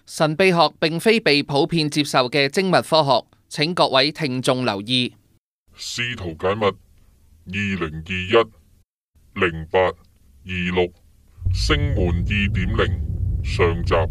神秘學並非被普遍接受嘅精密科學，請各位聽眾留意。 試圖解密2021-08-26星門2.0上集。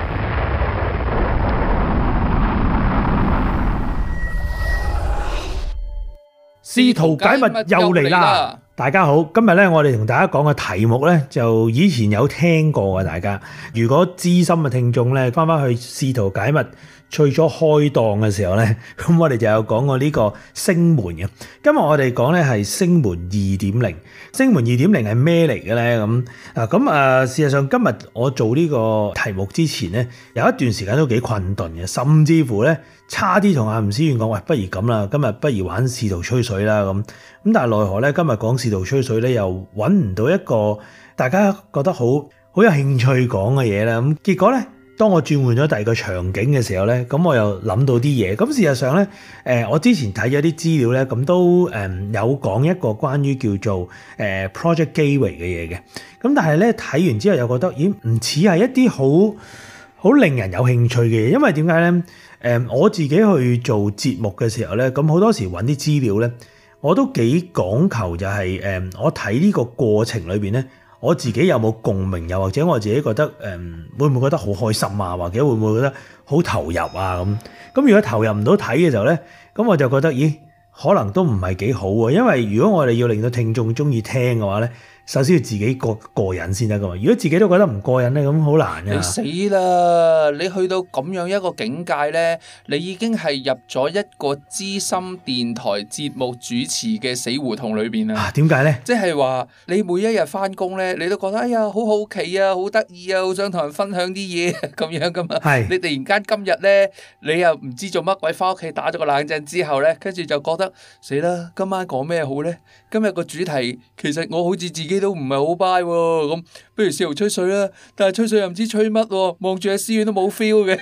試圖解密又嚟啦！大家好，今日咧我哋同大家講嘅題目咧，就以前有聽過嘅，大家如果資深嘅聽眾咧，翻去試圖解密最初開檔嘅時候咧，咁我哋就有講過呢個星門嘅。今日我哋講咧係星門2.0，星門2.0係咩嚟嘅咧？事實上今日我做呢個題目之前咧，有一段時間都幾困頓嘅，甚至乎咧差啲同阿吳思遠講，喂，不如咁啦，今日不如玩試圖吹水啦咁。咁但係奈何咧，今日講試圖吹水咧，又揾唔到一個大家覺得好有興趣講嘅嘢啦。咁結果咧，當我轉換咗第二個場景嘅時候咧，咁我又諗到啲嘢。咁事實上咧，我之前睇咗啲資料咧，咁都有講一個關於叫做Project Gateway 嘅嘢嘅。咁但係咧睇完之後又覺得，咦，唔似係一啲好令人有興趣嘅嘢。因為點解咧？我自己去做節目嘅時候咧，咁好多時揾啲資料咧，我都幾講求就係我睇呢個過程裏邊咧，我自己有冇共鳴，又或者我自己覺得會唔會覺得好開心啊，或者會唔會覺得好投入啊咁？咁如果投入唔到睇嘅時候咧，咁我就覺得，咦，可能都唔係幾好喎。因為如果我哋要令到聽眾中意聽嘅話咧，首先要自己過癮先得噶嘛。如果自己都覺得唔過癮咧，咁好難噶。 你死啦！你去到咁樣一個境界咧，你已經係入咗一個資深電台節目主持嘅死胡同裏邊啦。 點解咧？ 即係話你每一日翻工咧，你都覺得哎呀好好奇啊，好得意啊，好想同人分享啲嘢咁樣噶嘛。係。你突然間今日咧，你又唔知做乜鬼，翻屋企打咗個冷震之後咧，跟住就覺得死啦！今晚講咩好咧？今日個主題其實我好似自己都唔係好 buy 喎，咁不如試圖吹水啦。但係吹水又唔知吹乜喎，望住阿思遠都冇 feel 嘅。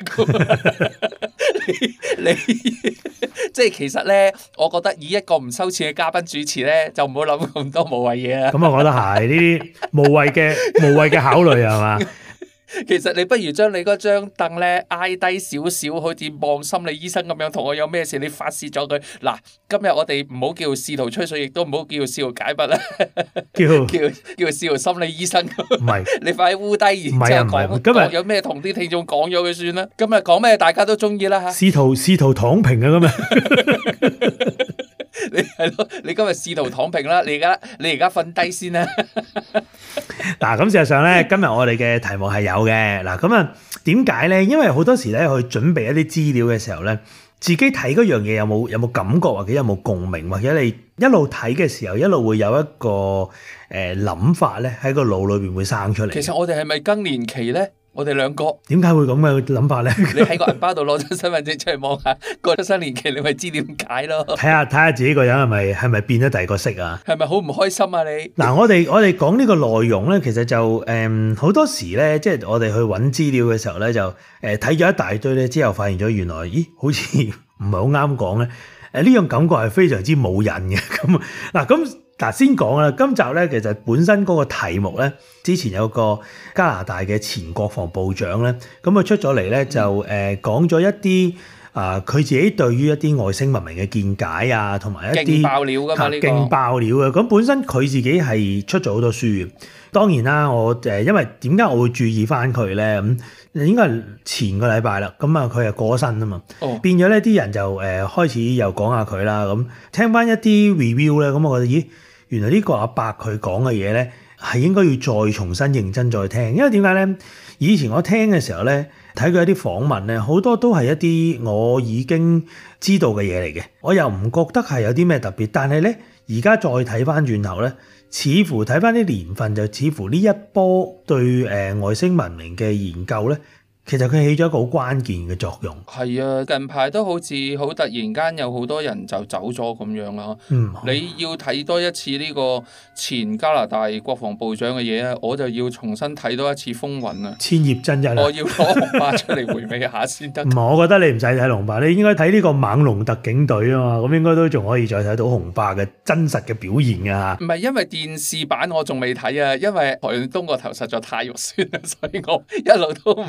你即係其實咧，我覺得以一個唔收錢嘅嘉賓主持咧，就唔好諗咁多無謂嘢啦。 咁我覺得係呢啲無謂嘅考慮係嘛？ 其實你不如將你嗰張凳咧挨低少少，好似望心理醫生咁樣，同我有咩事你發泄咗佢。嗱，今日我哋唔好叫試圖吹水，亦都唔好叫試圖解密啦，叫試圖心理醫生。唔係，你快啲烏低，然之後講今日有咩同啲聽眾講咗佢算啦。今日講咩大家都中意啦吓。 試圖躺平啊咁啊！ 你係咯，你今日試圖躺平啦，你而家瞓低先啦。 嗱，咁事實上咧，今日我哋嘅題目係有嘅。嗱，咁啊，點解咧？因為好多時咧，去準備一啲資料嘅時候咧，自己睇嗰樣嘢有冇感覺，或者有冇共鳴，或者你一路睇嘅時候，一路會有一個諗法咧喺個腦裏邊會生出嚟。 其實我哋係咪更年期咧？我哋兩個點解會咁嘅諗法咧？ 你喺個銀包度攞張身份證出嚟望下，過咗新年期你咪知點解咯。 睇下自己個人係咪變咗第二個色啊？ 係咪好唔開心啊你？ 嗱，我哋講呢個內容咧，其實就好多時咧，即係我哋去揾資料嘅時候咧，就睇咗一大堆咧，之後發現咗原來，咦，好似唔係好啱講咧。呢種感覺係非常之冇癮嘅。嗱，先講啦，今集咧其實本身嗰個題目咧，之前有個加拿大嘅前國防部長咧，咁佢出咗嚟咧就講咗一啲佢自己對於一啲外星文明嘅見解啊，同埋一啲勁爆料㗎嘛呢個勁爆料嘅。咁本身佢自己係出咗好多書嘅。當然啦，我因為點解我會注意翻佢咧？咁應該係前個禮拜啦，咁啊佢係過咗身啊嘛，變咗咧啲人就開始又講下佢啦。咁聽翻一啲 review 咧，咁我覺得咦，原來呢個阿伯佢講嘅嘢咧係應該要再重新認真再聽，因為點解咧？以前我聽嘅時候咧，睇佢一啲訪問咧，好多都係一啲我已經知道嘅嘢嚟嘅，我又唔覺得係有啲咩特別。但係咧，而家再睇翻轉頭咧，似乎睇翻啲年份，就似乎呢一波對外星文明嘅研究咧，其實佢起咗一個好關鍵嘅作用。 係啊，近排都好似好突然間有好多人就走咗咁樣啦。你要睇多一次呢個前加拿大國防部長嘅嘢啊，我就要重新睇多一次風雲啊。 千葉真一， 我要攞紅巴出嚟回味下先得。 唔係，我覺得你唔使睇紅巴，你應該睇呢個猛龍特警隊啊嘛，咁應該都仲可以再睇到紅巴嘅真實嘅表現㗎。 唔係，因為電視版我仲未睇啊，因為台東個頭實在太肉酸啦，所以我一路都哇 no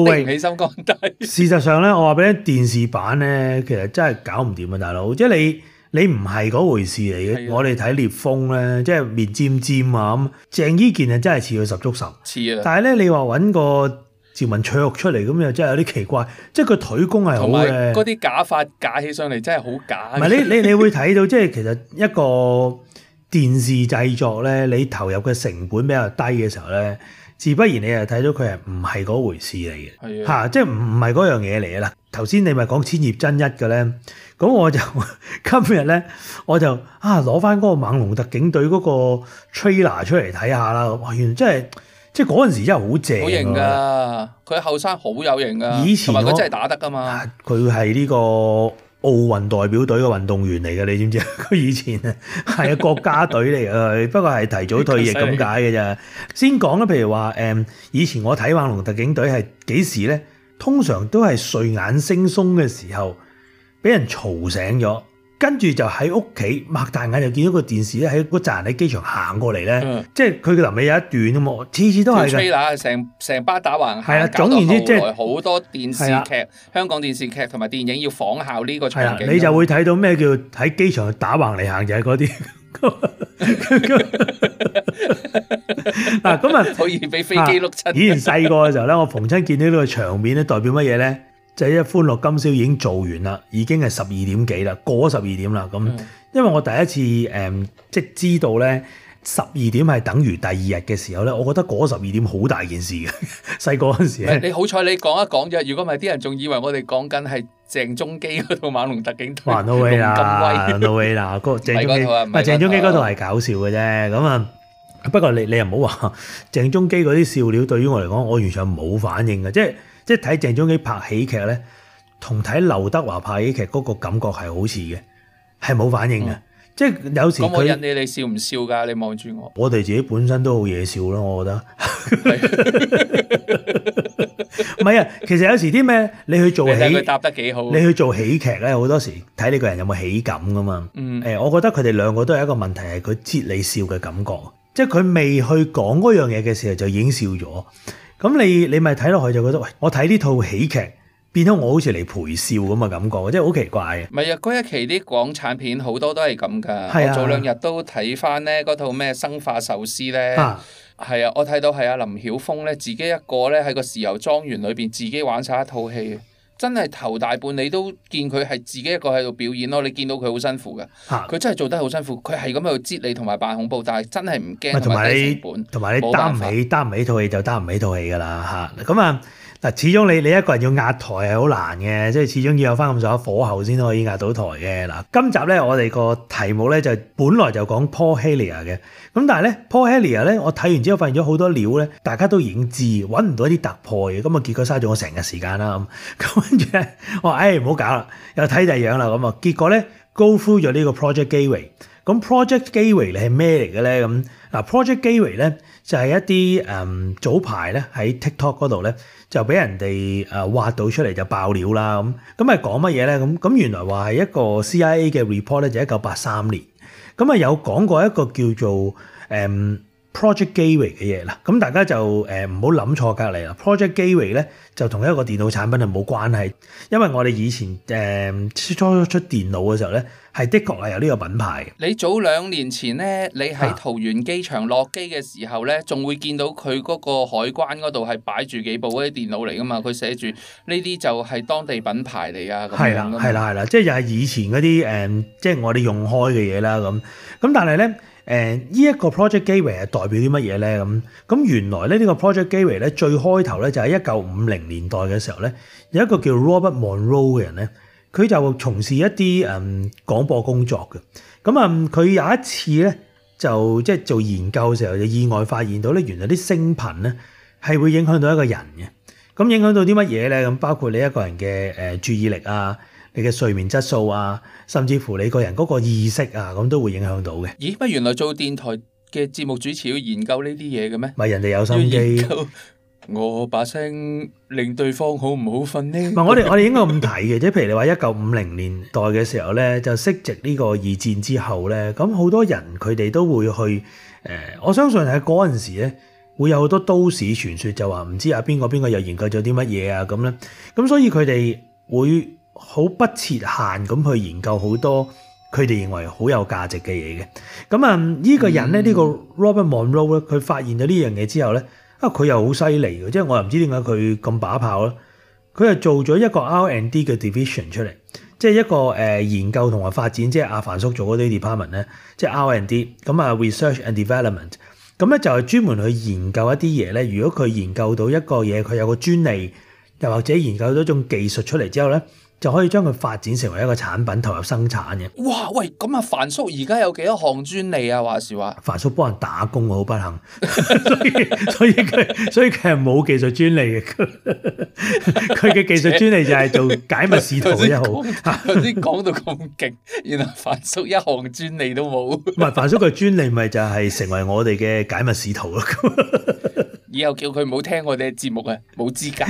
way，起心肝底。 事實上咧，我話俾你電視版咧，其實真係搞唔掂啊，大佬！即係你唔係嗰回事嚟嘅。我哋睇聶風咧，即係面尖尖啊咁。鄭伊健啊，真係似佢十足十。似啊！但係咧，你話揾個趙文卓出嚟咁又真係有啲奇怪，即係佢腿功係好嘅。 嗰啲假髮假起上嚟真係好假。 唔係你會睇到，即係其實一個電視製作咧，你投入嘅成本比較低嘅時候咧，自不然你就睇到佢係唔係嗰回事嚟嘅。嚇，即係唔係嗰樣嘢嚟嘅啦。頭先你咪講千葉真一嘅咧，咁我就今日咧我就攞翻嗰個猛龍特警隊嗰個 trailer 出嚟睇下啦。哇，原來真係〜即係嗰陣時真係好正， 好型㗎！佢後生好有型㗎， 以前同埋佢真係打得㗎嘛。 佢係呢個奧運代表隊嘅運動員嚟嘅，你知唔知？佢以前係國家隊嚟嘅，不過係提早退役咁解嘅咋。先講啦，譬如話以前我睇《猛龍特警隊》係幾時咧？通常都係睡眼惺忪嘅時候，俾人嘈醒咗。跟住就喺屋企擘大眼就見到個電視咧，喺嗰扎人喺機場行過嚟咧，即係佢嘅臨尾有一段啊嘛，次次都係嘅。 成班打橫行， 係啦，總言之即係好多電視劇、香港電視劇同埋電影要仿效呢個場景。 你就會睇到咩叫喺機場打橫嚟行，就係嗰啲。嗱咁啊， 可以俾飛機碌親。 以前細個嘅時候咧，我逢親見到呢個場面咧，代表乜嘢咧？就係一歡樂今宵已經做完啦，已經係12點幾啦，過咗12點啦。咁因為我第一次即係知道咧12點係等於第二日嘅時候咧，我覺得過咗12點好大件事嘅。細個嗰陣時咧， 你好彩你講一講啫，如果唔係啲人仲以為我哋講緊係鄭中基嗰套《猛龍特警隊》。 No way 啦，No way 啦，嗰個鄭中基，鄭中基嗰套係搞笑嘅啫。咁啊，不過你又唔好話鄭中基嗰啲笑料對於我嚟講，我完全冇反應嘅，即係睇鄭中基拍喜劇咧，同睇劉德華拍喜劇嗰個感覺係好似嘅，係冇反應嘅。即係有時咁我引你笑唔笑㗎？你望住我， 我哋自己本身都好嘢笑咯，我覺得。唔係啊，其實有時啲咩你去做喜， 佢答得幾好。 你去做喜劇咧，好多時睇你個人有冇喜感㗎嘛。我覺得佢哋兩個都係一個問題，係佢接你笑嘅感覺，即係佢未去講嗰樣嘢嘅時候就已經笑咗。咁你咪睇落去就覺得，喂，我睇呢套喜劇變咗我好似嚟陪笑咁嘅感覺，即係好奇怪嘅。 唔係啊，嗰一期啲港產片好多都係咁㗎。我早兩日都睇翻咧嗰套咩生化壽司咧，係啊，我睇到係阿林曉峰咧自己一個咧喺個豉油莊園裏邊自己玩晒一套戲。真係頭大半你都見佢係自己一個喺度表演咯，你見到佢好辛苦㗎，佢真係做得好辛苦，佢係咁喺度擠你同埋扮恐怖，但係真係唔驚同埋低成本， 同埋你擔唔起套戲就擔唔起套戲㗎啦嚇。咁啊嗱，始終你一個人要壓台係好難嘅，即係始終要有翻咁上下火候先可以壓到台嘅嗱。今集咧我哋個題目咧就本來就講 Paul Hellyer 嘅，咁但係咧 Paul Hellyer 咧我睇完之後發現咗好多料咧，大家都已經知，揾唔到一啲突破嘅，咁啊結果嘥咗我成日時間啦咁跟住咧我話唔好搞啦，又睇第二樣啦咁啊，結果咧 go through 咗呢個 Project Gateway。咁 Project Gateway 係咩嚟嘅咧？咁嗱 Project Gateway 咧就係一啲早排咧喺 TikTok 嗰度咧就俾人哋挖到出嚟就爆料啦咁係講乜嘢咧？咁原來話係一個 CIA 嘅 report 咧，就1983年咁有講過一個叫做Project Gateway 嘅嘢啦。咁大家就唔好諗錯隔離啦。Project Gateway 咧就同一個電腦產品係冇關係，因為我哋以前初出電腦嘅時候咧。係的確係有呢個品牌。 你早2年前咧，你喺桃園機場落機嘅時候咧，仲會見到佢嗰個海關嗰度係擺住幾部嗰啲電腦嚟噶嘛？佢寫住呢啲就係當地品牌嚟啊。 係啦，係啦，係啦，即係又係以前嗰啲即係我哋用開嘅嘢啦咁。咁但係咧呢一個 Project Gateway 係代表啲乜嘢咧？咁原來咧呢個 Project Gateway 咧最開頭咧就喺1950年代嘅時候咧，有一個叫 Robert Monroe 嘅人咧。佢就從事一啲廣播工作嘅，咁佢有一次咧就即係做研究嘅時候就意外發現到咧，原來啲聲頻咧係會影響到一個人嘅，咁影響到啲乜嘢咧？咁包括你一個人嘅注意力啊，你嘅睡眠質素啊，甚至乎你個人嗰個意識啊，咁都會影響到嘅。 咦？乜原來做電台嘅節目主持要研究呢啲嘢嘅咩？ 咪人哋有心機。 我把聲令對方好唔好瞓呢？ 唔係我哋應該咁睇嘅，即係譬如你話1950年代嘅時候咧，就息值呢個二戰之後咧，咁好多人佢哋都會去我相信喺嗰陣時咧， 會有好多都市傳說，就話唔知邊個又研究咗啲乜嘢啊咁咧。咁所以佢哋會好不設限咁去研究好多佢哋認為好有價值嘅嘢嘅。咁啊呢個人咧，呢個 Robert Monroe 咧，佢發現咗呢樣嘢之後咧，佢又好犀利嘅，即係我又唔知點解佢咁把炮啦。佢係做咗一個 R&D 嘅 division 出嚟，即係一個研究同埋發展，即係阿凡叔做嗰啲 department 咧，即係 R&D 咁啊 research and development。咁咧就係專門去研究一啲嘢咧。如果佢研究到一個嘢，佢有個專利，又或者研究到一種技術出嚟之後咧，就可以將佢發展成為一個產品投入生產嘅。 哇！喂，咁啊，凡叔而家有幾多項專利啊？話時話， 凡叔幫人打工好不幸，所以佢係冇技術專利嘅。佢嘅技術專利就係做解密使徒嘅一號。 頭先講到咁勁，原來凡叔一項專利都冇。 唔係凡叔嘅專利咪就係成為我哋嘅解密使徒咯。 以後叫佢唔好聽我哋嘅節目啊，冇資格。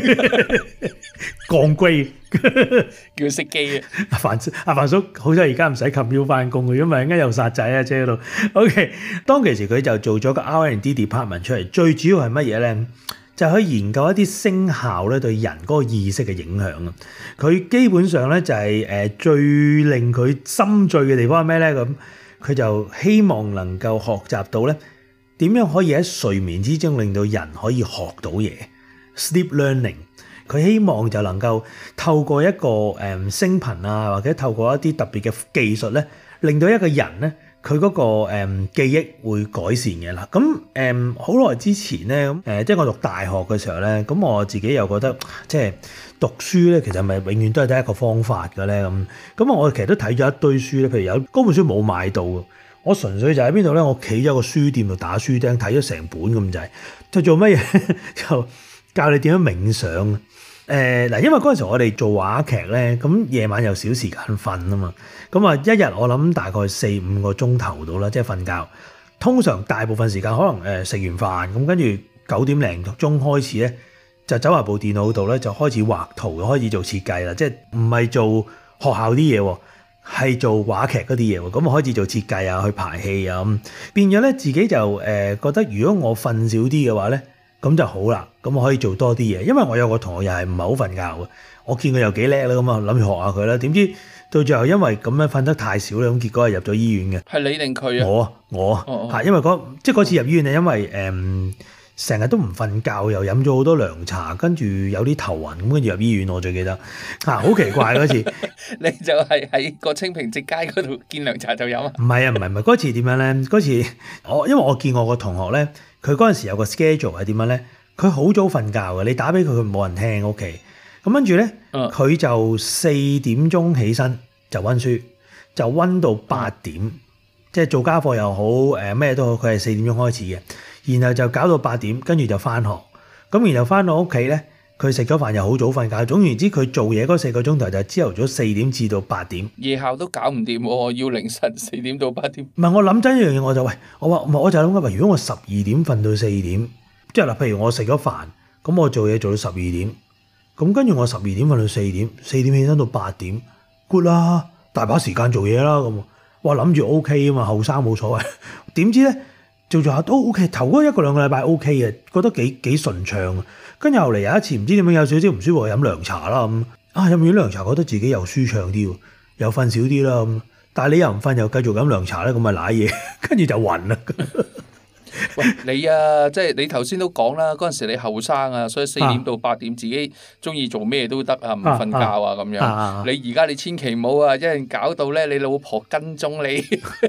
降龜叫佢熄機啊！ 阿凡叔好彩而家唔使冚錶翻工嘅，因為陣間又殺仔啊車度。OK， 當其時佢就做咗個 R&D department 出嚟，最主要係乜嘢咧？就係可以研究一啲聲效咧對人嗰個意識嘅影響啊！佢基本上咧就係最令佢心醉嘅地方係咩咧？咁佢就希望能夠學習到咧點樣可以喺睡眠之中令到人可以學到嘢 ，sleep learning。佢希望就能夠透過一個聲頻啊，或者透過一啲特別嘅技術咧，令到一個人咧佢嗰個記憶會改善嘅啦。咁好耐之前咧，即係我讀大學嘅時候咧，咁我自己又覺得即係讀書咧，其實咪永遠都係得一個方法嘅咧咁我其實都睇咗一堆書咧，譬如有嗰本書冇買到，我純粹就喺邊度咧？我企咗個書店度打書釘睇咗成本咁滯，就做乜嘢？就教你點樣冥想。嗱，因為嗰陣時我哋做話劇咧，咁夜晚有少時間瞓啊嘛，咁啊一日我諗大概4-5個鐘頭到啦，即係瞓覺。通常大部分時間可能食完飯咁，跟住9點零鐘開始咧，就走埋部電腦度咧，就開始畫圖，開始做設計啦。即係唔係做學校啲嘢喎，係做話劇嗰啲嘢喎。咁我開始做設計啊，去排戲啊咁，變咗咧自己就覺得，如果我瞓少啲嘅話咧，咁就好啦，咁我可以做多啲嘢，因為我有個同學又係唔係好瞓覺嘅，我見佢又幾叻啦，咁啊諗住學下佢啦，點知到最後因為咁樣瞓得太少咧，咁結果係入咗醫院嘅。係你定佢啊？我嚇，因為嗰次入醫院係因為成日都唔瞓覺，又飲咗好多涼茶，跟住有啲頭暈，咁跟住入醫院，我最記得好奇怪嗰次。你就係喺個清平直街嗰度見涼茶就飲啊？唔係，嗰次點樣咧？嗰次因為我見我個同學咧。佢嗰陣時有個 schedule 係點樣咧？佢好早瞓覺嘅，你打俾佢，佢冇人聽屋企。咁跟住咧，佢就4點鐘起身就溫書，就溫到8點，即係做家課又好，咩都好，佢係4點鐘開始嘅。然後就搞到8點，跟住就翻學。咁然後翻到屋企咧，佢食咗飯又好早瞓覺。總言之，佢做嘢嗰4個鐘頭就係朝頭早4點至到8點。夜校都搞唔掂喎，要凌晨4點到8點。唔係，我諗真一樣嘢，我就就諗緊，如果我12點瞓到4點，即係嗱，譬如我食咗飯，咁我做嘢做到12點，咁跟住我12點瞓到4點，4點起身到8點 ，good 啦，大把時間做嘢啦咁。哇，諗住 OK 啊嘛，後生冇所謂。點知咧做下都 OK，頭嗰1個2個禮拜 OK 嘅，覺得幾順暢。跟住後嚟有一次唔知點樣有少少唔舒服，飲涼茶啦咁。飲完涼茶覺得自己又舒暢啲喎，又瞓少啲啦咁。但係你又唔瞓又繼續飲涼茶咧，咁咪瀨嘢，跟住就暈啦。喂，你啊，即係你頭先都講啦，嗰陣時你後生啊，所以4點到8點自己中意做咩都得啊，唔瞓覺啊咁樣。你而家你千祈唔好啊，一陣搞到咧你老婆跟蹤你，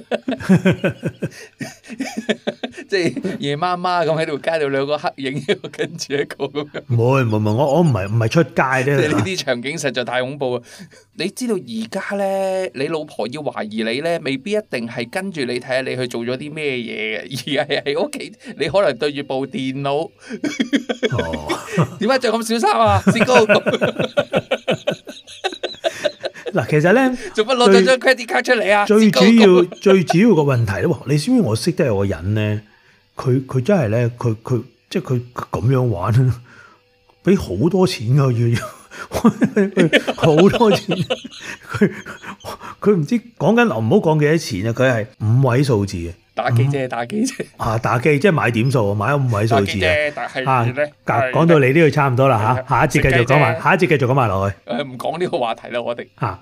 即係夜媽媽咁喺度街度兩個黑影跟住一個咁樣。唔會，我唔係出街啫。即係呢啲場景實在太恐怖啊！你知道而家咧，你老婆要懷疑你咧，未必一定係跟住你睇下你去做咗啲咩嘢嘅，而係喺屋企你可能對住部電腦。點解着咁小衫啊？薛高。嗱，其實咧，做乜攞咗張 credit card 出嚟啊？最主要個問題咧，你知唔知我識得有個人咧，佢真係咧，佢即係佢咁樣玩，俾好多錢噶要。好多錢，佢唔知講緊，唔好講幾多錢啊！佢係5位數字嘅， 打機啫，打機啫。 打機即係買點數，買咗5位數字但係咧， 講到你呢度差唔多啦嚇，下一節繼續講埋，下一節繼續講埋落去。 唔講呢個話題啦，我哋嚇。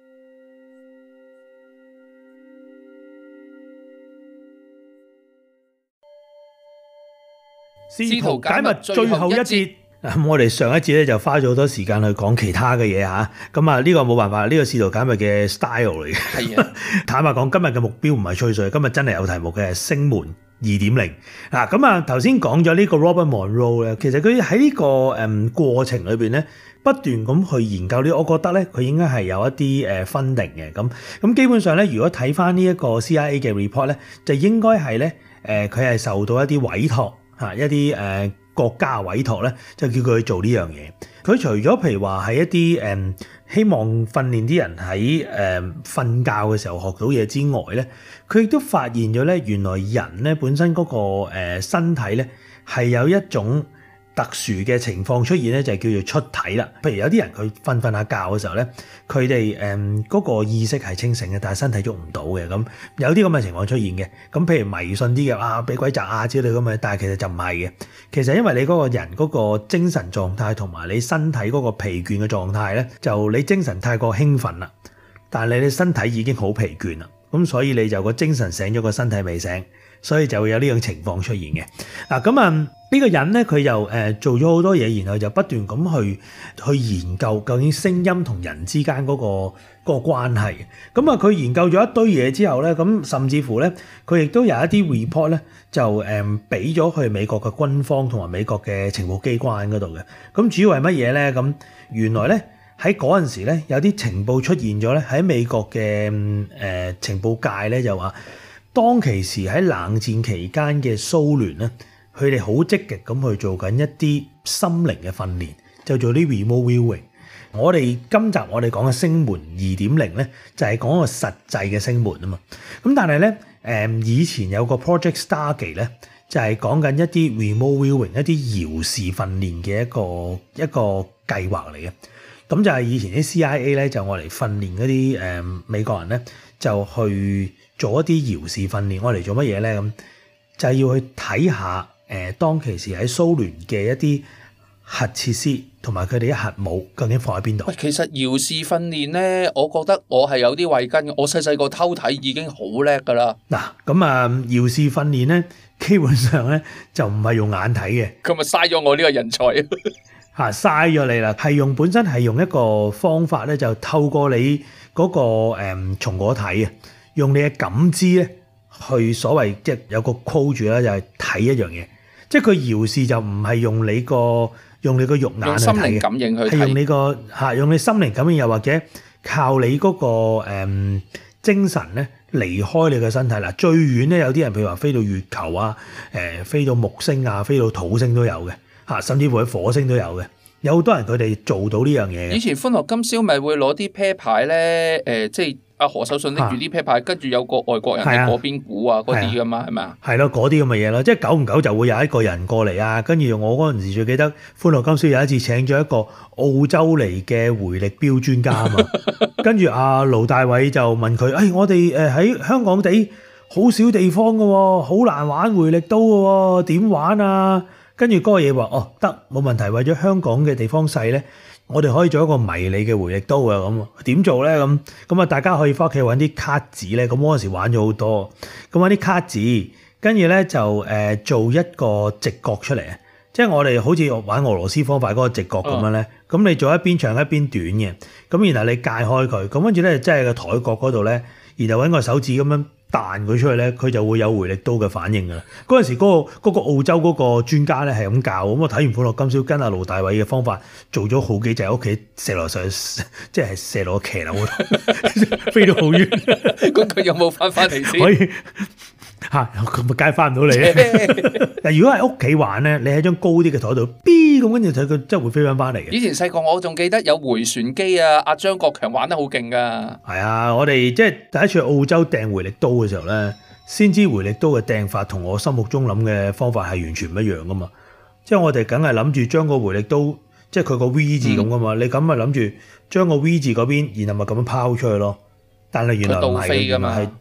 試圖解密最後一節。我哋上一節咧就花咗好多時間去講其他嘅嘢嚇，咁啊呢個冇辦法，呢個試圖解密嘅 style 嚟嘅。係啊，坦白講，今日嘅目標唔係吹水，今日真係有題目嘅，係星門2.0。嗱，咁啊頭先講咗呢個 Robert Monroe 咧，其實佢喺呢個過程裏邊咧，不斷咁去研究呢，我覺得咧佢應該係有一啲funding嘅。咁基本上咧，如果睇翻呢一個 CIA 嘅 report 咧，就應該係咧佢係受到一啲委託嚇，一啲國家委託咧，就叫佢去做呢樣嘢。佢除咗譬如話係一啲希望訓練啲人喺瞓覺嘅時候學到嘢之外咧，佢亦都發現咗咧，原來人咧本身嗰個身體咧係有一種特殊嘅情況出現咧，就係叫做出體啦。譬如有啲人佢瞓下覺嘅時候咧，佢哋嗰個意識係清醒嘅，但係身體喐唔到嘅。咁有啲咁嘅情況出現嘅。咁譬如迷信啲嘅俾鬼責啊之類咁嘅，但係其實就唔係嘅。其實因為你嗰個人嗰個精神狀態同埋你身體嗰個疲倦嘅狀態咧，就你精神太過興奮啦，但係你身體已經好疲倦啦。咁所以你就個精神醒咗，個身體未醒，所以就會有呢種情況出現嘅。嗱咁呢個人咧，佢又做咗好多嘢，然後就不斷咁去研究究竟聲音同人之間嗰個關係。咁佢研究咗一堆嘢之後咧，咁甚至乎咧，佢亦都有一啲 report 咧，就俾咗去美國嘅軍方同埋美國嘅情報機關嗰度嘅。咁主要係乜嘢咧？咁原來咧喺嗰陣時咧，有啲情報出現咗咧，喺美國嘅情報界咧就話，當其時喺冷戰期間嘅蘇聯咧，佢哋好積極咁去做緊一啲心靈嘅訓練，就做啲 remote viewing。我哋今集我哋講嘅星門2.0咧，就係講個實際嘅星門啊嘛。咁但係咧，以前有個 Project Stargate 咧，就係講緊一啲 remote viewing、一啲遙視訓練嘅一個計劃嚟嘅。咁就係以前啲 CIA 咧，就我嚟訓練嗰啲美國人咧，就去做一啲遙視訓練。我嚟做乜嘢咧？咁就係要去睇下當其時喺蘇聯嘅一啲核設施同埋佢哋嘅核武究竟放喺邊度？ 喂，其實遙視訓練咧，我覺得我係有啲慧根嘅。我細細個偷睇已經好叻噶啦。 嗱，咁遙視訓練咧，基本上咧就唔係用眼睇嘅。 咁咪嘥咗我呢個人才嚇，嘥咗你啦！係本身係用一個方法咧，就透過你嗰個松果體啊，用你嘅感知咧，去所謂即係有個 call 住啦，就係睇一樣嘢。即係佢遙視就唔係用你個肉眼去睇嘅， 用心靈感應去睇， 係用你心靈感應，又或者靠你嗰個精神咧離開你嘅身體啦。最遠咧有啲人譬如話飛到月球啊，飛到木星啊，飛到土星都有嘅嚇，甚至乎喺火星都有嘅。有好多人佢哋做到呢樣嘢嘅。 以前歡樂今宵咪會攞啲啤牌咧，即係阿何守信拎住啲啤牌，跟住有個外國人喺嗰邊估啊嗰啲噶嘛，係咪啊？ 係咯，嗰啲咁嘅嘢咯，即係久唔久就會有一個人過嚟啊。跟住我嗰陣時最記得歡樂今宵有一次請咗一個澳洲嚟嘅回力鏢專家啊嘛，跟住阿盧大偉就問佢：我哋喺香港地好少地方㗎喎，好難玩回力刀㗎喎，點玩啊？跟住嗰個嘢話：得，冇問題。為咗香港嘅地方細咧，我哋可以做一個迷你嘅回力刀啊！咁點做咧？咁啊，大家可以翻屋企揾啲卡紙咧。咁嗰陣時玩咗好多，咁揾啲卡紙，跟住咧就做一個直角出嚟啊！即係我哋好似玩俄羅斯方塊嗰個直角咁樣咧。咁你做一邊長一邊短嘅，咁然後你界開佢，咁跟住咧即係個台角嗰度咧，然後揾個手指咁樣彈佢出去咧，佢就會有回力刀嘅反應㗎啦。嗰陣時嗰個澳洲嗰個專家咧係咁教，咁我睇完歡樂今宵跟阿盧大偉嘅方法做咗好幾隻喺屋企射落上，即係射落個騎樓嗰度，飛到好遠。 咁佢有冇翻嚟先？ 可以咁咪梗係翻唔到嚟。但如果喺屋企玩咧，你喺張高啲嘅台度，B 咁跟住睇佢真係會飛翻嚟嘅。 以前細個我仲記得有迴旋機啊，阿張國強玩得好勁㗎。 係啊，我哋即係第一次去澳洲掟回力刀嘅時候咧，先知回力刀嘅掟法同我心目中諗嘅方法係完全唔一樣噶嘛。即係我哋梗係諗住將個回力刀，即係佢個 V 字咁噶嘛。你咁咪諗住將個 V 字嗰邊，然後咪咁樣拋出去咯。但係原來唔係㗎嘛，係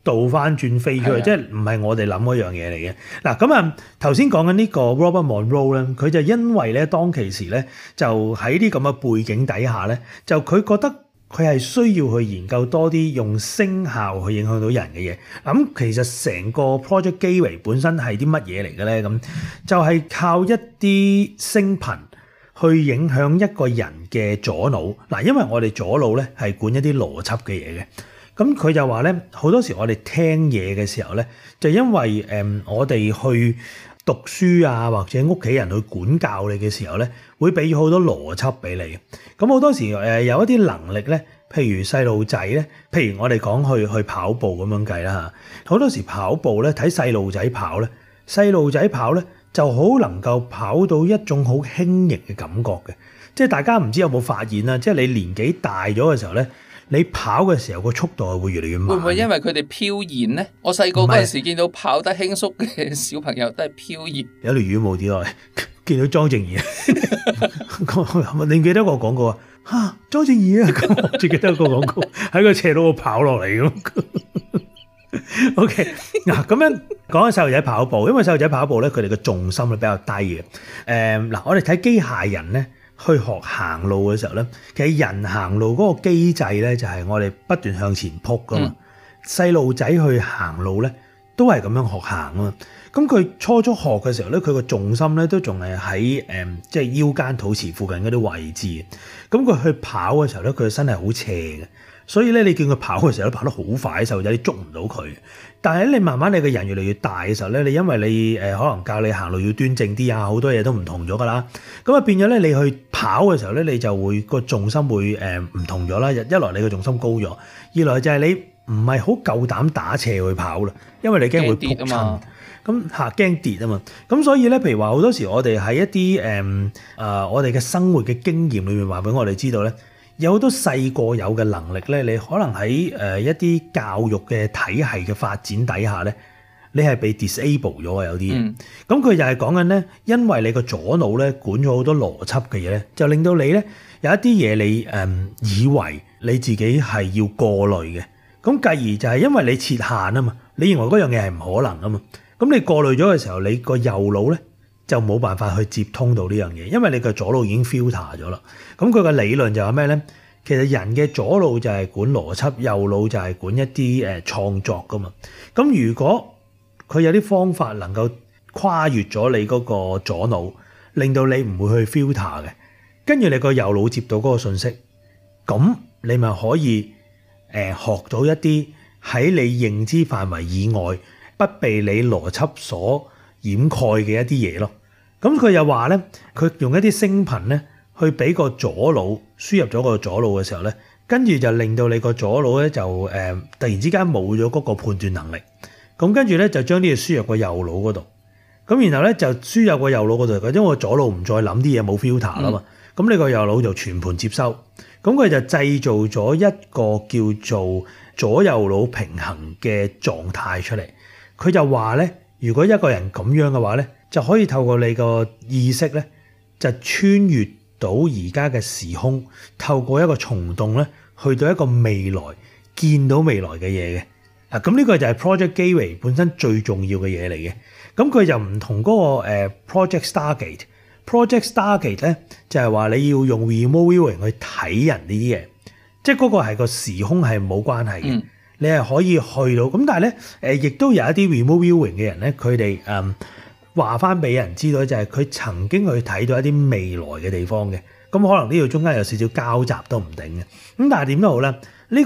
倒翻轉飛出去，即係唔係我哋諗嗰樣嘢嚟嘅。嗱咁啊，頭先講緊呢個 Robert Monroe 咧，佢就因為咧當其時咧就喺啲咁嘅背景底下咧，就佢覺得佢係需要去研究多啲用聲效去影響到人嘅嘢。咁其實成個 Project Gateway 本身係啲乜嘢嚟嘅咧？咁就係靠一啲聲頻去影響一個人嘅左腦。嗱，因為我哋左腦咧係管一啲邏輯嘅嘢嘅。咁佢就話咧，好多時我哋聽嘢嘅時候咧，就因為我哋去讀書啊，或者屋企人去管教你嘅時候咧，會俾咗好多邏輯俾你。咁好多時有一啲能力咧，譬如細路仔咧，譬如我哋講去跑步咁樣計啦嚇，好多時跑步咧睇細路仔跑咧，細路仔跑咧就好能夠跑到一種好輕盈嘅感覺嘅。即係大家唔知有冇發現啦，即係你年紀大咗嘅時候咧，你跑嘅時候個速度係會越嚟越慢。 會唔會因為佢哋飄然咧？我細個嗰陣時見到跑得輕鬆嘅小朋友都係飄然。 有條魚冇跌落嚟，見到莊正儀，你記得我講過啊？莊正儀啊，咁我最記得個廣告喺個斜路度跑落嚟咁。OK， 嗱咁樣講緊細路仔跑步，因為細路仔跑步咧，佢哋嘅重心係比較低嘅。嗱，我哋睇機械人咧，去學行路嘅時候咧，其實人行路嗰個機制咧，就係我哋不斷向前撲噶嘛。細路仔去行路咧，都係咁樣學行啊嘛。咁佢初學嘅時候咧，佢個重心咧都仲係喺即係腰間肚臍附近嗰啲位置。咁佢去跑嘅時候咧，佢個身係好斜嘅。所以咧，你見佢跑嘅時候都跑得好快，細路仔你捉唔到佢。但係你慢慢你個人越嚟越大嘅時候咧，你因為你可能教你行路要端正啲啊，好多嘢都唔同咗噶啦。咁啊變咗咧，你去跑嘅時候咧，你就會個重心會唔同咗啦。一來你個重心高咗，二來就係你唔係好夠膽打斜去跑啦，因為你驚會撲親。咁驚跌啊嘛。咁所以咧，譬如話好多時我哋喺一啲我哋嘅生活嘅經驗裏面話俾我哋知道咧。有好多細個有嘅能力咧，你可能喺一啲教育嘅體系嘅發展底下咧，你係被 disable 咗啊！有啲嘢，咁佢就係講緊咧，因為你個左腦咧管咗好多邏輯嘅嘢咧，就令到你咧有一啲嘢你以為你自己係要過濾嘅，咁繼而就係因為你設限啊嘛，你認為嗰樣嘢係唔可能啊嘛，咁你過濾咗嘅時候，你個右腦咧就冇辦法去接通到呢樣嘢，因為你個左腦已經 filter 咗啦。咁佢個理論就係咩咧？其實人嘅左腦就係管邏輯，右腦就係管一啲創作噶嘛。咁如果佢有啲方法能夠跨越咗你嗰個左腦，令到你唔會去 filter 嘅，跟住你個右腦接到嗰個信息，咁你咪可以學到一啲喺你認知範圍以外，不被你邏輯所掩蓋嘅一啲嘢咯。咁佢又話咧，佢用一啲聲頻咧，去俾個左腦輸入咗個左腦嘅時候咧，跟住就令到你個左腦咧就突然之間冇咗嗰個判斷能力。咁跟住咧就將啲嘢輸入個右腦嗰度。咁然後咧就輸入個右腦嗰度，因為個左腦唔再諗啲嘢冇 filter 啦嘛。咁你個右腦就全盤接收。咁佢就製造咗一個叫做左右腦平衡嘅狀態出嚟。佢就話咧，如果一個人咁樣嘅話咧，就可以透過你個意識咧，就穿越到而家嘅時空，透過一個蟲洞咧，去到一個未來，見到未來嘅嘢嘅。嗱，咁呢個就係 Project Gateway 本身最重要嘅嘢嚟嘅。咁佢就唔同嗰個Project Stargate。Project Stargate 咧就係話你要用 remote viewing 去睇人呢啲嘢，即係嗰個係個時空係冇關係嘅。你係可以去到。咁但係咧亦都有一啲 remote viewing 嘅人咧，佢哋話翻俾人知道就係佢曾經去睇到一啲未來嘅地方嘅。咁可能呢度中間有少少交集都唔定嘅。咁但係點都好啦。呢個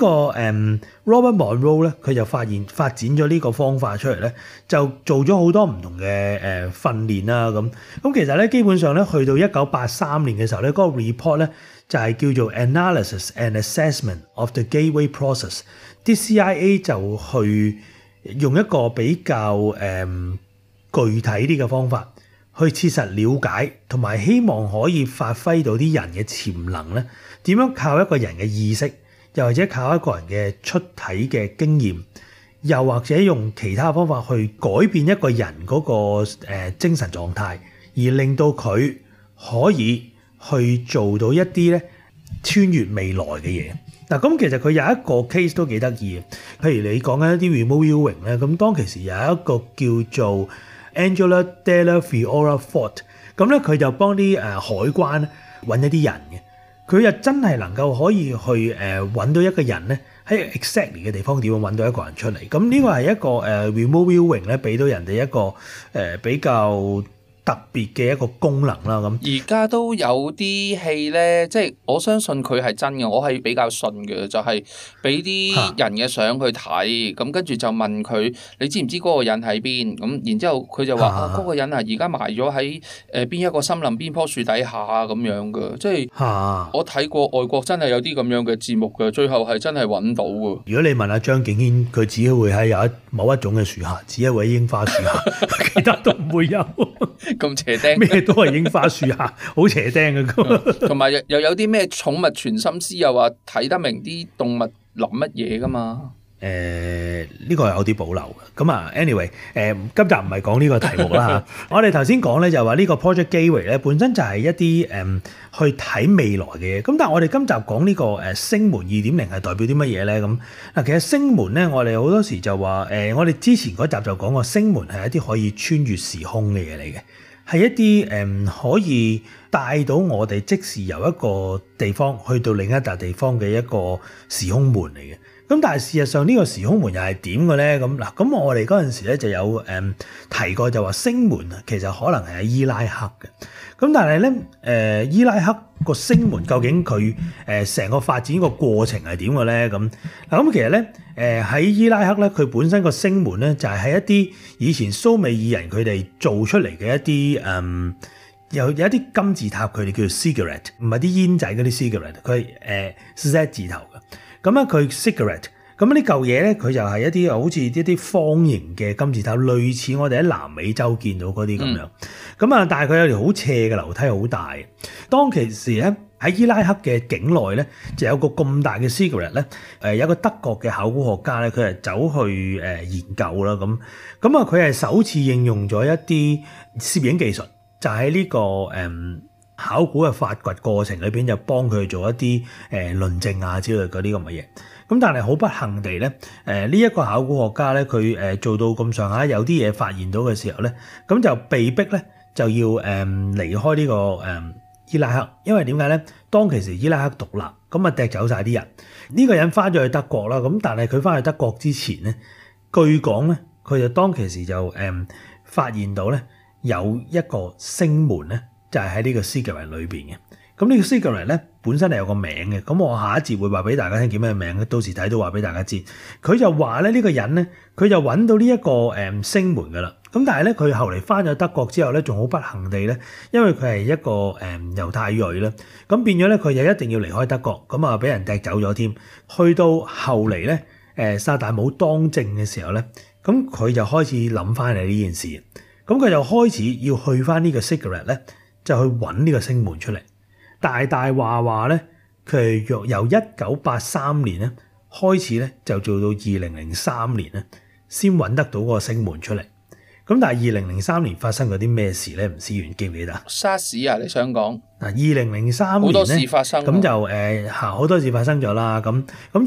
Robert Monroe 咧，佢就發展咗呢個方法出嚟咧，就做咗好多唔同嘅訓練啦。咁其實咧，基本上咧，去到1983年嘅時候咧，嗰個 report 咧就係叫做 Analysis and Assessment of the Gateway Process。啲 CIA 就去用一個比較具體啲嘅方法，去切實了解同埋希望可以發揮到啲人嘅潛能咧，點樣靠一個人嘅意識。又或者靠一個人嘅出體嘅經驗，又或者用其他方法去改變一個人嗰個精神狀態，而令到佢可以去做到一啲咧穿越未來嘅嘢。嗱，咁其實佢有一個 case 都幾得意嘅，譬如你講緊一啲 remote viewing 咧，咁當其時有一個叫做 Angela Della Fiora Fort， 咁咧佢就幫啲海關揾一啲人嘅，佢又真係能夠可以去揾到一個人咧喺 exactly 嘅地方點樣揾到一個人出嚟，咁呢個係一個remote viewing 咧，俾到人哋一個比較特別嘅一個功能啦。咁而家都有啲戲咧，即係我相信佢係真嘅，我係比較信嘅，就係俾啲人嘅相去睇，咁跟住就問佢你知唔知嗰個人喺邊？咁然之後佢就話嗰個人啊，而家埋咗喺邊一個森林邊棵樹底下咁樣嘅，即係我睇過外國真係有啲咁樣嘅節目嘅，最後係真係揾到嘅。如果你問阿張敬軒，佢只會喺有某一種嘅樹下，只一位櫻花樹下，其他都唔會有。 咁邪釘， 咩都係櫻花樹下，好邪釘嘅。 同埋又有啲咩寵物傳心師又話睇得明啲動物諗乜嘢噶嘛？ 呢個係有啲保留嘅。咁啊 ，anyway， 今集唔係講呢個題目啦嚇。我哋頭先講咧就話呢個 Project Gateway 咧本身就係一啲去睇未來嘅嘢。咁但係我哋今集講呢個星門 2.0 係代表啲乜嘢咧？咁嗱，其實星門咧，我哋好多時就話我哋之前嗰集就講過，星門係一啲可以穿越時空嘅嘢嚟嘅。係一啲可以帶到我哋即時由一個地方去到另一笪地方嘅一個時空門嚟嘅。咁但係事實上呢個時空門又係點嘅咧？咁嗱，咁我哋嗰陣時咧就有提過，就話星門其實可能係喺伊拉克嘅。咁但係咧伊拉克個星門究竟佢成個發展個過程係點嘅咧？咁嗱，咁其實咧喺伊拉克咧，佢本身個星門咧就係喺一啲以前蘇美爾人佢哋做出嚟嘅一啲有一啲金字塔，佢哋叫做 cigarette， 唔係啲煙仔嗰啲 cigarette， 佢係Z 字頭嘅。咁咧佢 cigarette， 咁呢嚿嘢咧佢就係一啲好似一啲方形嘅金字塔，類似我哋喺南美洲見到嗰啲咁樣。咁啊，但係佢有條好斜嘅樓梯，好大。當其時咧喺伊拉克嘅境內咧，就有個咁大嘅 cigarette 咧，有一個德國嘅考古學家咧，佢係走去研究啦。咁啊，佢係首次應用咗一啲攝影技術，就喺呢個考古嘅發掘過程裏邊，就幫佢做一啲論證啊之類嗰啲咁嘅嘢。咁但係好不幸地咧，呢一個考古學家咧，佢做到咁上下，有啲嘢發現到嘅時候咧，咁就被逼咧就要離開呢個伊拉克，因為點解咧？當其時伊拉克獨立，咁啊掟走晒啲人。呢個人翻咗去德國啦，咁但係佢翻去德國之前咧，據講咧，佢就當其時就發現到咧有一個星門咧。就係喺呢個 cigarette 裏邊嘅，咁呢個 cigarette 咧本身係有個名嘅，咁我下一節會話俾大家聽叫咩名，到時睇到話俾大家知。佢就話咧呢個人咧，佢就揾到呢一個星門噶啦，咁但係咧佢後嚟翻咗德國之後咧，仲好不幸地咧，因為佢係一個猶太裔啦，咁變咗咧佢就一定要離開德國，咁啊俾人掟走咗添。去到後嚟咧，薩達姆當政嘅時候咧，咁佢就開始諗翻嚟呢件事，咁佢就開始要去翻呢個 cigarette 咧。就去揾呢個星門出嚟，大話咧，佢係由1983年咧開始咧，就做到2003年咧，先揾得到嗰個星門出嚟。咁但係2003年發生咗啲咩事咧？吳思遠記唔記得 ？SARS 啊，你想講嗱？2003年好多事發生， 咁就好多事發生咗啦。咁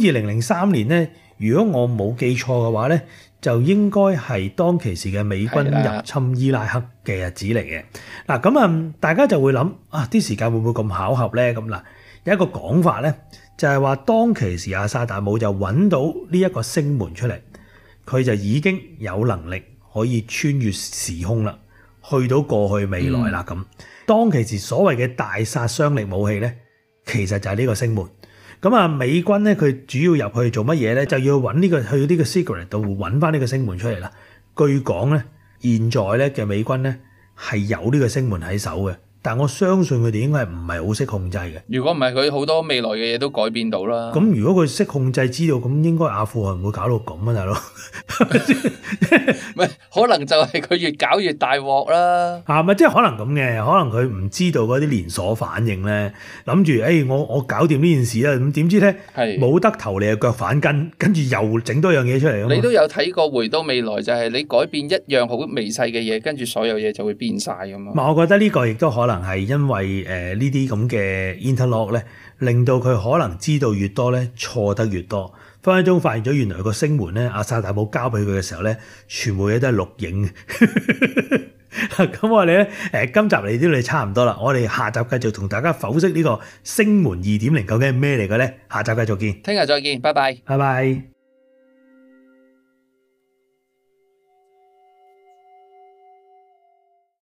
2003年咧，如果我冇記錯嘅話咧，就應該係當其時嘅美軍入侵伊拉克嘅日子嚟嘅。嗱，咁啊，大家就會諗啊，啲時間會唔會咁巧合咧？咁嗱，有一個講法咧，就係話當其時阿薩達姆就揾到呢一個星門出嚟，佢就已經有能力可以穿越時空啦，去到過去未來啦。咁當其時所謂嘅大殺傷力武器咧，其實就係呢個星門。咁啊，美軍咧佢主要入去做乜嘢咧？就要揾呢個去呢個 cigarette 度揾翻呢個星門出嚟啦。據講咧，現在咧嘅美軍咧係有呢個星門喺手嘅，但我相信佢哋應該係唔係好識控制嘅。 如果唔係，佢好多未來嘅嘢都改變到啦。 咁如果佢識控制，知道咁應該阿富汗唔會搞到咁啊，大佬。 唔係，可能就係佢越搞越大鑊啦。 咪即係可能咁嘅，可能佢唔知道嗰啲連鎖反應咧，諗住我搞掂呢件事啦，咁點知咧冇得頭你嘅腳反跟住又整多樣嘢出嚟。 你都有睇過回到未來，就係你改變一樣好微細嘅嘢，跟住所有嘢就會變晒咁嘛。 我覺得呢個亦都可能能係因為呢啲咁嘅 interlock 咧，令到佢可能知道越多咧，錯得越多。分分鐘發現咗原來個星門咧，阿薩達姆交俾佢嘅時候咧，全部嘢都係錄影。咁我哋咧今集嚟到嚟差唔多啦，我哋下集繼續同大家剖析呢個星門2.0究竟係咩嚟嘅咧？下集繼續見， 聽日再見，拜拜， 拜拜。